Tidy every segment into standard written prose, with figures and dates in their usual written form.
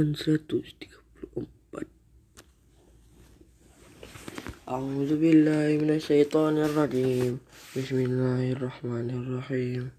halaman 134. A'udzubillahi minasyaitonirrajim. Bismillahirrahmanirrahim.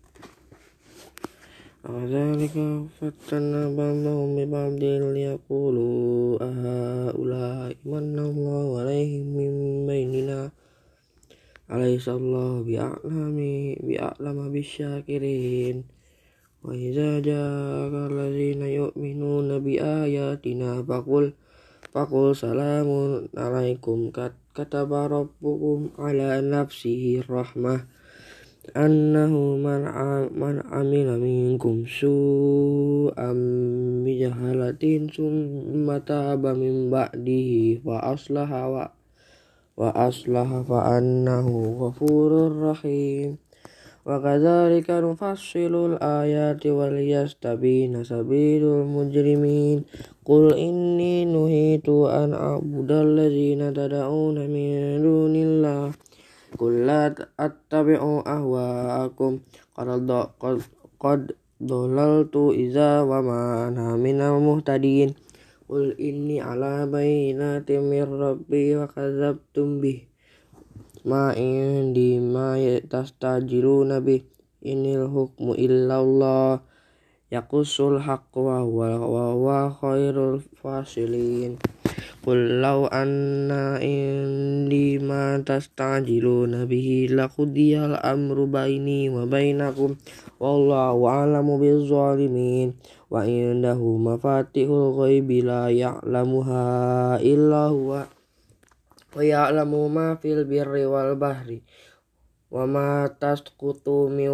Adzalika fatanna ba'dahum bi ba'din liyaqulu ahaula'i manallahu 'alaihim min bainina alaysallahu bi'a'lama bisyakirin. Wa idza ja'aka allazina yu'minuna bi ayatina faqul salamun alaikum kataba rabbukum ala nafsihi rahmah annahu man amila minkum su'am bijahalatin summa taba min ba'dihi wa aslaha fa annahu ghafurur rahim. Wa kadzalika nufassilul ayati wal yastabina sabilul mujrimin. Qul inni nuhitu an a'budal ladzina tad'una min dunillah. Qul la attabi'u ahwa'akum qad dhalaltu idza wa ma ana minal muhtadin. Qul inni ala bayyinatin mir rabbi wa kadzabtum bih ma indi ma tastajiluna bih inil hukmu illallah yaqussul haqqa wa huwa khairul fasilin. Qul law anna indi ma tastajiluna bihi laqudiyal amru baini wa bainakum wallahu a'lamu bizzalimin. Wa indahu mafatihul ghaibi la ya'lamuha illa huwa wa ya'lamu ma fil birri wal bahri wa ma tasqutu min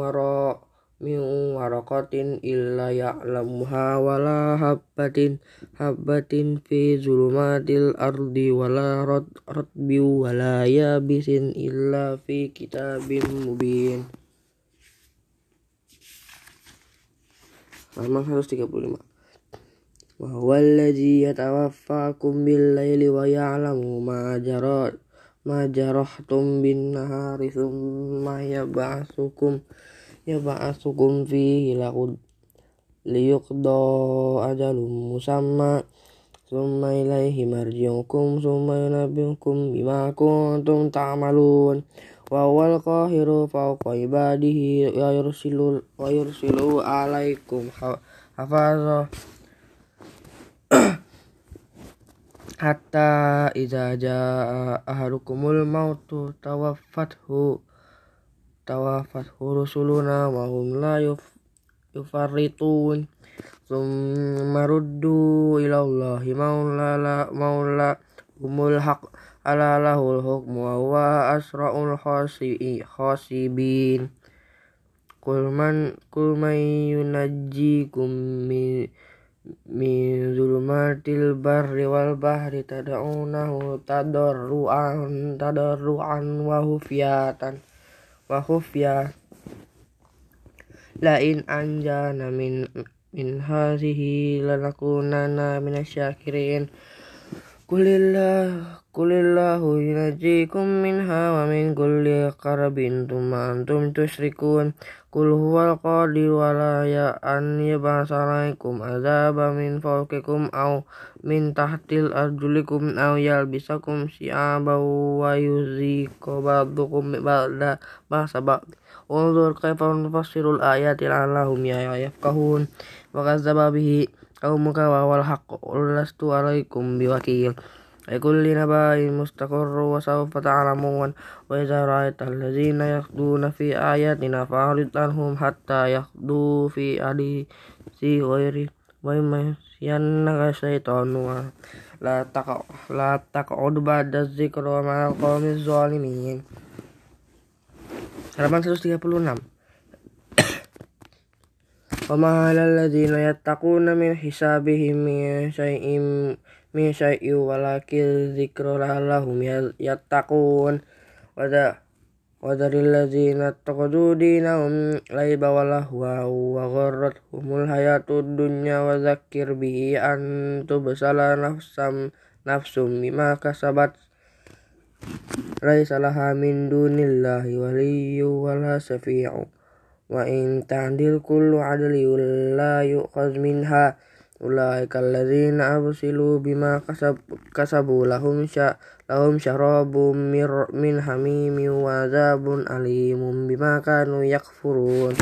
waraqatin illa ya'lamuha wa la habbatin fi zulumatil ardi wa la ratbi wa la yabisin illa fi kitabim mubin. Halaman 135. Wa huwa alladzi yatawaffakum bil-laili wa ya'lamu ma jarahtum bin-nahari thumma yab'atsukum fihi liyuqda ajalun musamma thumma ilaihi marji'ukum thumma yunabbi'ukum bima kuntum ta'malun. Wa huwal qahiru fawqa ibadihi wa yursilu 'alaikum hafazah hatta idza jaa ahadukumul mautu tawaffathu rusuluna wa hum la yufarritun thumma ruddu ila Allahi maulahumul haq ala lahul hukmu wa huwa asra'ul hasibin. Qul man yunajjikum min zulumatil barri wal bahri tad'unahu tadarruan wa khufyatan la in anjana min hadhihi lanakunanna minasyakirin. Qulillahu yunajjikum minha wa min kulli qarabin thumma antum tusyrikun. Qul huwal qadiru ala an yab'atsa 'alaikum 'adzaban min fawqikum aw min tahtil arjulikum aw yalbisakum syi'aban wa yuziqa ba'dakum ba'da ba'sa ba'd. Unzur kaifa nufassirul ayati la'allahum yafqahun. Wa kadzdzaba bihi qaumuka wa huwal haqq qul lastu 'alaikum biwakil. Likulli naba'in mustaqarrun wa sawfa ta'lamun. Wa idza ra'aital ladzina yakhduna fi ayatina fa'rid anhum hatta yakhdu fi haditsin ghairi wa imma yannaka syaitanu la taq'ud ba'da dzikra ma'al qaumiz zalimin. Halaman 136. Wa ma 'alal ladzina yattaquna min hisabihim min syai'in walakin dzikra la'allahum yattaqun. Wa dzaril ladzina ittakhadhu dinahum laiba wa lahwa wa gharrathumul hayatud dunya wa dzakkir bihi an tubsala nafsum bima kasabat laisa laha min dunillahi waliyyu wala syafi'u wa in ta'dil kullu 'adlin la yu'khadh minha ulaika alladzina absilu bima kasabu lahum syarabum min hamimin wa azabun alimun bima kanu yakfurun.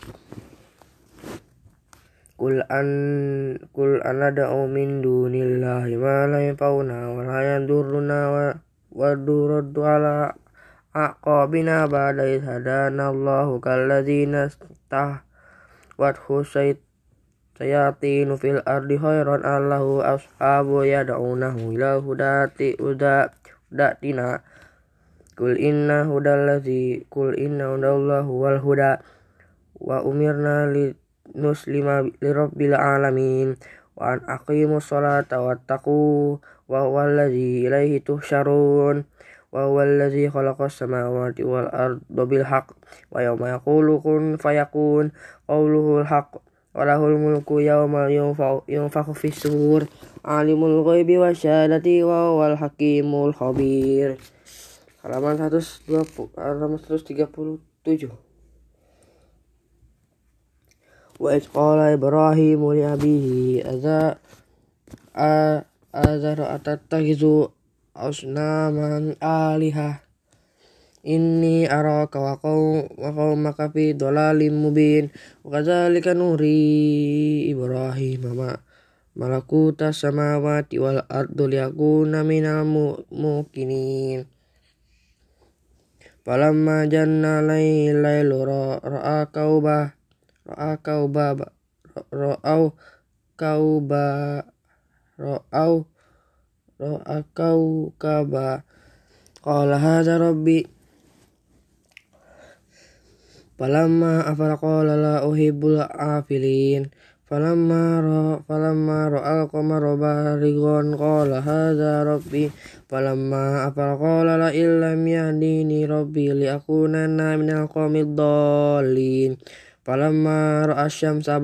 Qul anada'u min dunillahi ma la yanfa'una wa la yadurruna wa duraddu ala aqabina ba'da idh hadana Allahu kalladzina istahwathu sayatinu fil ardi khairan allahu ashabu yad'unahu ila hudatina Qul inna hudallahu wal huda wa umirna nuslima lirabbil alamin wa an aqimus salata wattaqu wa huwallazi ilaihi tuhsyarun wa huwallazi khalaqas samawati wal arda bil haqq wa yawma yaqulu kun fayakun qawluhul haqq wa lahul mulku yawma yunfakhu fis sur alimul ghaibi wasyahadati wa huwal hakimul khabir. Halaman 137. Wa idh qala Ibrahimu li abihi azar atattakhidhu asnaman alihah inni araka wa qaumaka fi dhalalim mubin wa kadzalika nuri Ibrahim malakutas samawati wal ardi liyakuna minal muqinin. Falamma janna lailu ra'a kaubaba qala hadza rabbi falamma afala qala la uhibbul afilin falamma ra'al qamara barigon qala hadza rabbi falamma afala qala la illam yahdini rabbi li akunanna minal qawmid dhalin falamma ra'a syamsa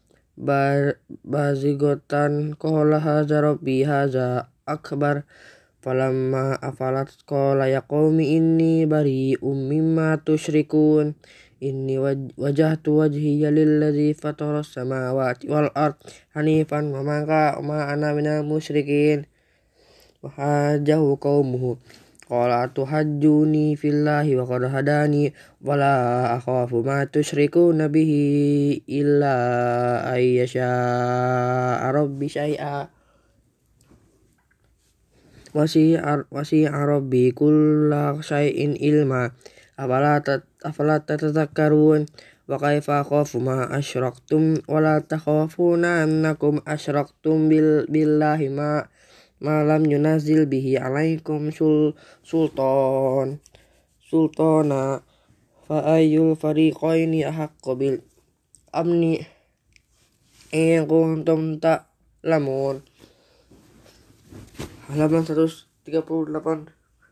bazigotan qala hadza rabbi hadza akbar falamma afalat qala ya qaumi inni bari'um mimma tusyrikun inni wajahtu wajhiya lilladzi fataras samawati wal ard hanifan wa ma ana minal musyrikin wa hajahu qaumuhu qala tuhajjuni fillahi wa qad hadani wala akhafu ma tusyrikuna bihi illa ayyasha rabbi syai'a wasi'a rabbi kulla syai'in ilma afala tatadhakkarun wa kaifa akhafu ma asyraktum wa la takhafuna annakum asyraktum billahi ma lam yunazil bihi alaikum sultana fa ayyul fariqaini ahaqqu bil amni in kuntum ta'lamun. Halaman 138.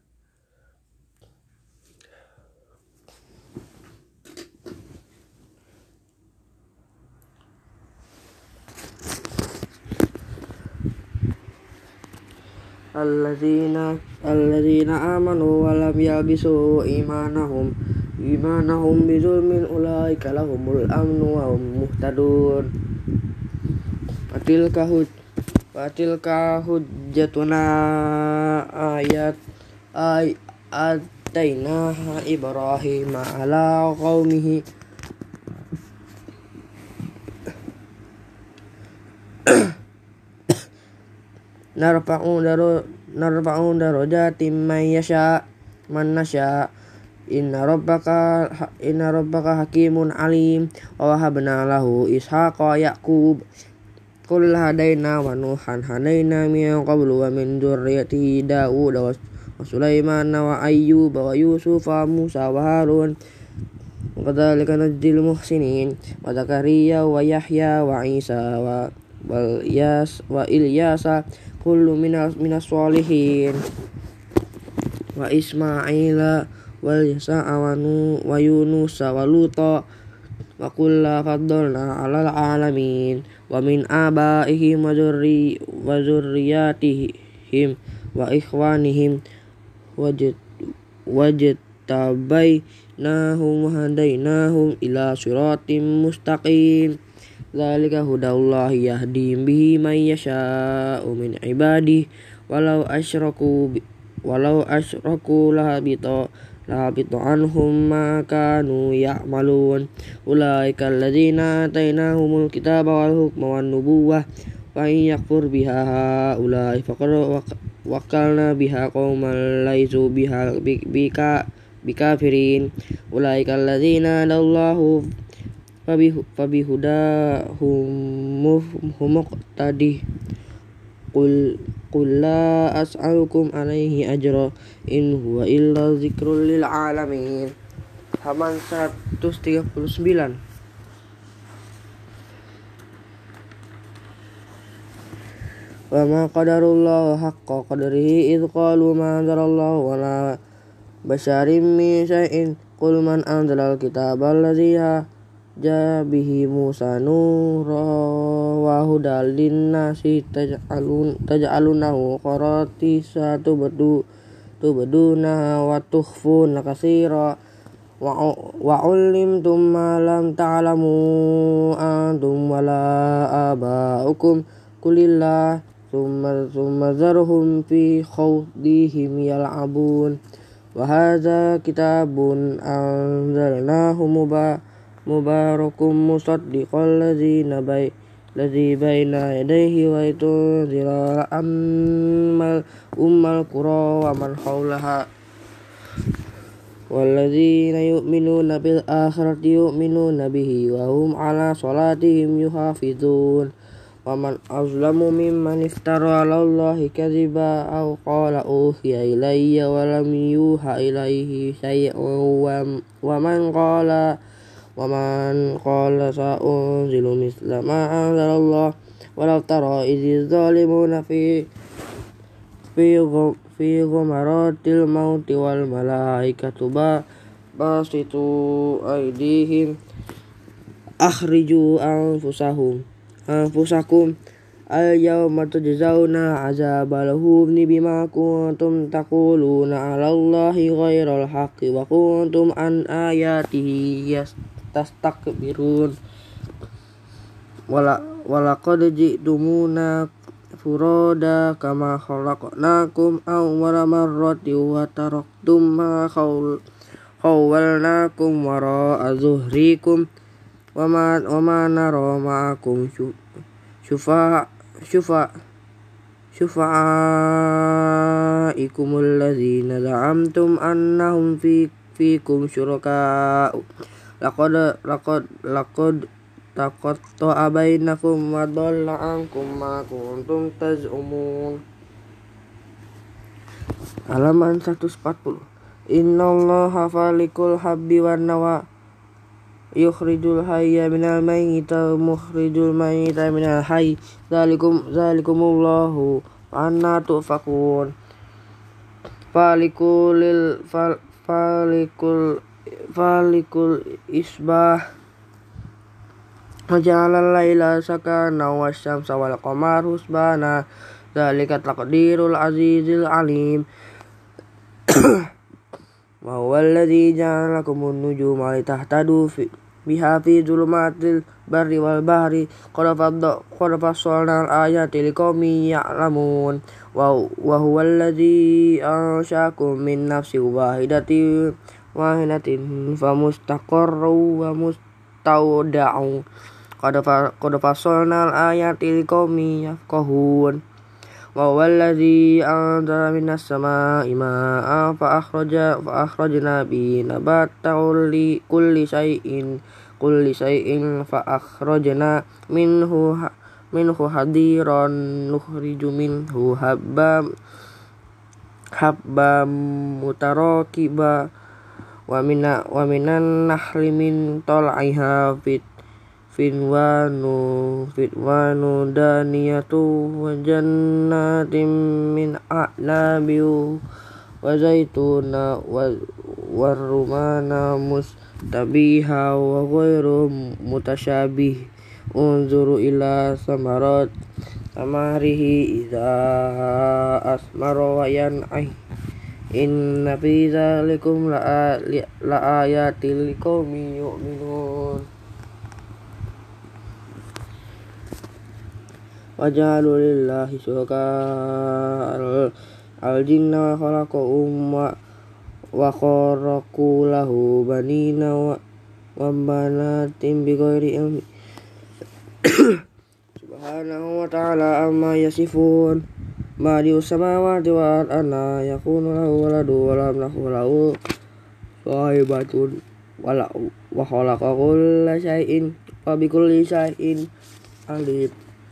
Alladzina amanu wa lam yalbisu imanahum bizulmin ulaika lahumul amnu wa hum muhtadun. Fatilka hujjatuna atainaha Ibrahim ala qaumihi narfa'u darajatin man nasha inna rabbaka hakimun alim wa wahabna lahu ishaqa yaqub qul hadaina wa nuhan hadaina min qablu wa min dzurriyyati Daud wa Sulaiman wa Ayyub wa Yusuf wa Musa wa Harun wa kadzalika najzil muhsinin wa Zakariya wa Yahya wa Isa wa Ilyasa kullu minas sholihin wa Ismaila wal Yasa wa Yunus wa Luta wa kulla faddalna 'alal 'alamin wa min abaihim wa zurriyatihim wa ikhwanihim wajtabainahum wa hadainahum ila siratim mustaqim dzalika hudallahi yahdi bihi may yasha'u min ibadihi walau asyraku lahabita anhum ma kanu ya'malun ulaika alladzina atainahumul kitaba wal hukma wan nubuwah fa in yakfur biha haulai faqad wakalna biha qauman laisu biha bikafirin ulaika alladzina hadallahu fabihudahum muqtadi qul la as'alukum alaihi ajra in huwa illa dzikrul lil alamin. Halaman 139. Wa ma qadarullahu haqqa qadrihi idh qalu ma anzalallahu wala basyarim min syai'in qul man anzalal kitaba allazi bihi Musa nura wa hudal linnasi taj'alunahu qaratisa tubduna wa tukhfuna katsira wa ulimtum ma lam ta'lamu antum wala aba'ukum kulillah thumma zarhum fi khawdihim yal'abun wa hadza kitabun anzalnahu mubarakum musaddiqal ladzi baina yadayhi wa tunzira ummal qura wa man hawlaha walladzina yu'minuna bil akhirati yu'minuna bihi wa hum ala salatihim yuhafizun wa man azlamu mimman iftara 'ala Allahi kadhiba aw qala uhiya ilayya wa lam yuha ilayhi syai'un wa man qala sa'unzilu misla ma anzalallah walau tara idz zalimuna fi ghamaratil mauti wal malaikatu basitu aydihim akhriju anfusakum al yawma tujzauna azabal huni bima kuntum taquluna 'ala Allahi ghairal haqqi wa kuntum an ayatihi tastakbirun walaqad ji'tumuna furada kama khalaqnakum awwala marrati wa taraktum ma khawwalnakum wara'a zuhrikum wa ma nara ma'akum syufa'aikumul ladzina za'amtum annahum fikum syuraka'u laqad taqatta'a bainakum wa dhalla 'ankum ma kuntum taz'umun. Halaman 140. Innallaha falikul habbi wan nawa yukhrijul hayya minal mayyiti wa mukhrijul mayyita minal hayy dzalikumullahu anna tufakun falikul isbah waja'alal laila sakana wasyamsa wal qamara husbana dzalika taqdirul azizil alim wa huwal ladzi ja'ala lakumun nujuma litahtadu biha fi dzulumatil barri wal bahri qad fassalna al-ayati liqaumin ya'lamun wa huwal ladzi ansha'akum min nafsin wahidatin famustaqarrun wa mustawda'un qad fassalna al-ayati liqaumin yafqahun wa huwal ladzi anzala minas samaa'i maa'an fa akhrajna bihi nabata kulli shay'in fa akhrajna minhu hadiran nukhriju minhu habban mutarakiba wa minan nahli min tal'iha fitwanu daniyatu wa jannatin min a'nabi wa zaituna wa rumana mustabiha wa ghairu mutasyabih unzuru ila samarihi idza asmara wa yan'ih inna fi dzalikum la ayatil liqaumin yu'minun. وجعلوا لله شركاء الجن وخلقهم وخرقوا له بنين وبنات بغير علم سبحانه وتعالى عما يصفون بديع السماوات والأرض أنى يكون له ولد ولم يكن له صاحبة وخلق كل شيء وبكل شيء عليم.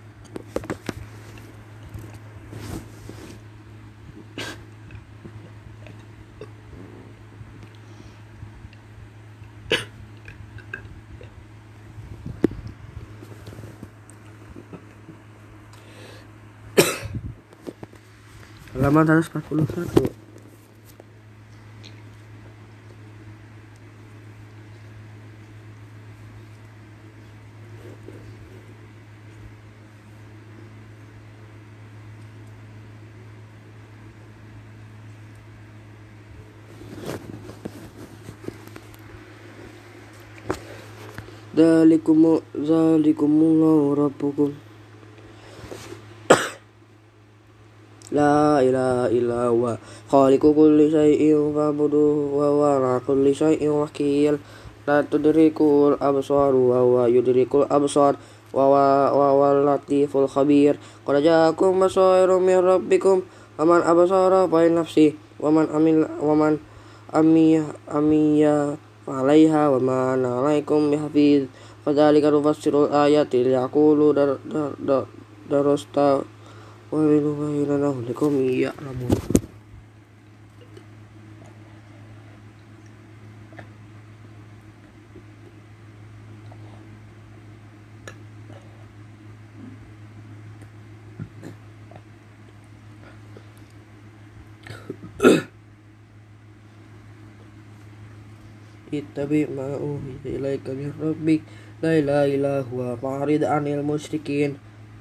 Halaman 141. Dzalikumullahu rabbukum la ilaha illa huwa khaliqu kulli syai'in fa'buduhu wa huwa ala kulli syai'in wakil. La tudrikul absaru wa huwa yudrikul absar wa huwa latiful khabir. Qad ja'akum basairun min rabbikum waman absara fa nafsi waman amiya alaiha wa ma ana alaikum bihafiz. Fadzalika nufassirul ayati liyaqulu darasta wa linubayyana lakum ya'lamun. Ittabi' ma uhiya ilaika min rabbik la ilaha illa huwa fa'rid 'anil musyrikin.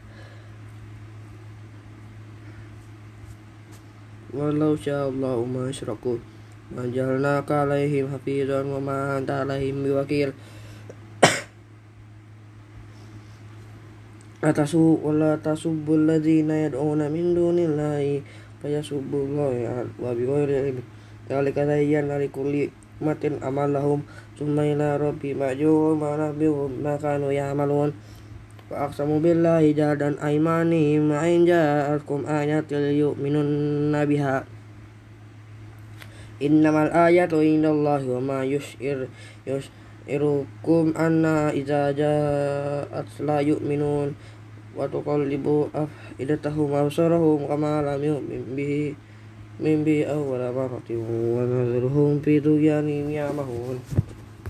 Walau sya'allahu ma asyraku ma ja'alnaka 'alaihim hafizan wa ma anta 'alaihim biwakil. Wala tasubbul ladzina yad'una min dunillahi fayasubbullaha wa bighairi ilmin. Dzalika zayyana likulli ummatin amalahum tsumma ila rabbihim marji'uhum fa yunabbi'uhum bima kanu ya'malun. Wa aqsamu billahi jahdan aymanihim wa in ja'atkum ayatin yu'minunna biha. Innamal ayatu indallahi wa ma yus'irukum anna idza ja'at la yu'minun wa tuqallibu afidatahum wa absarahum kama lam yu'min bihi awwala marratin wa nadharuhum fi tughyanihim ya'mahun.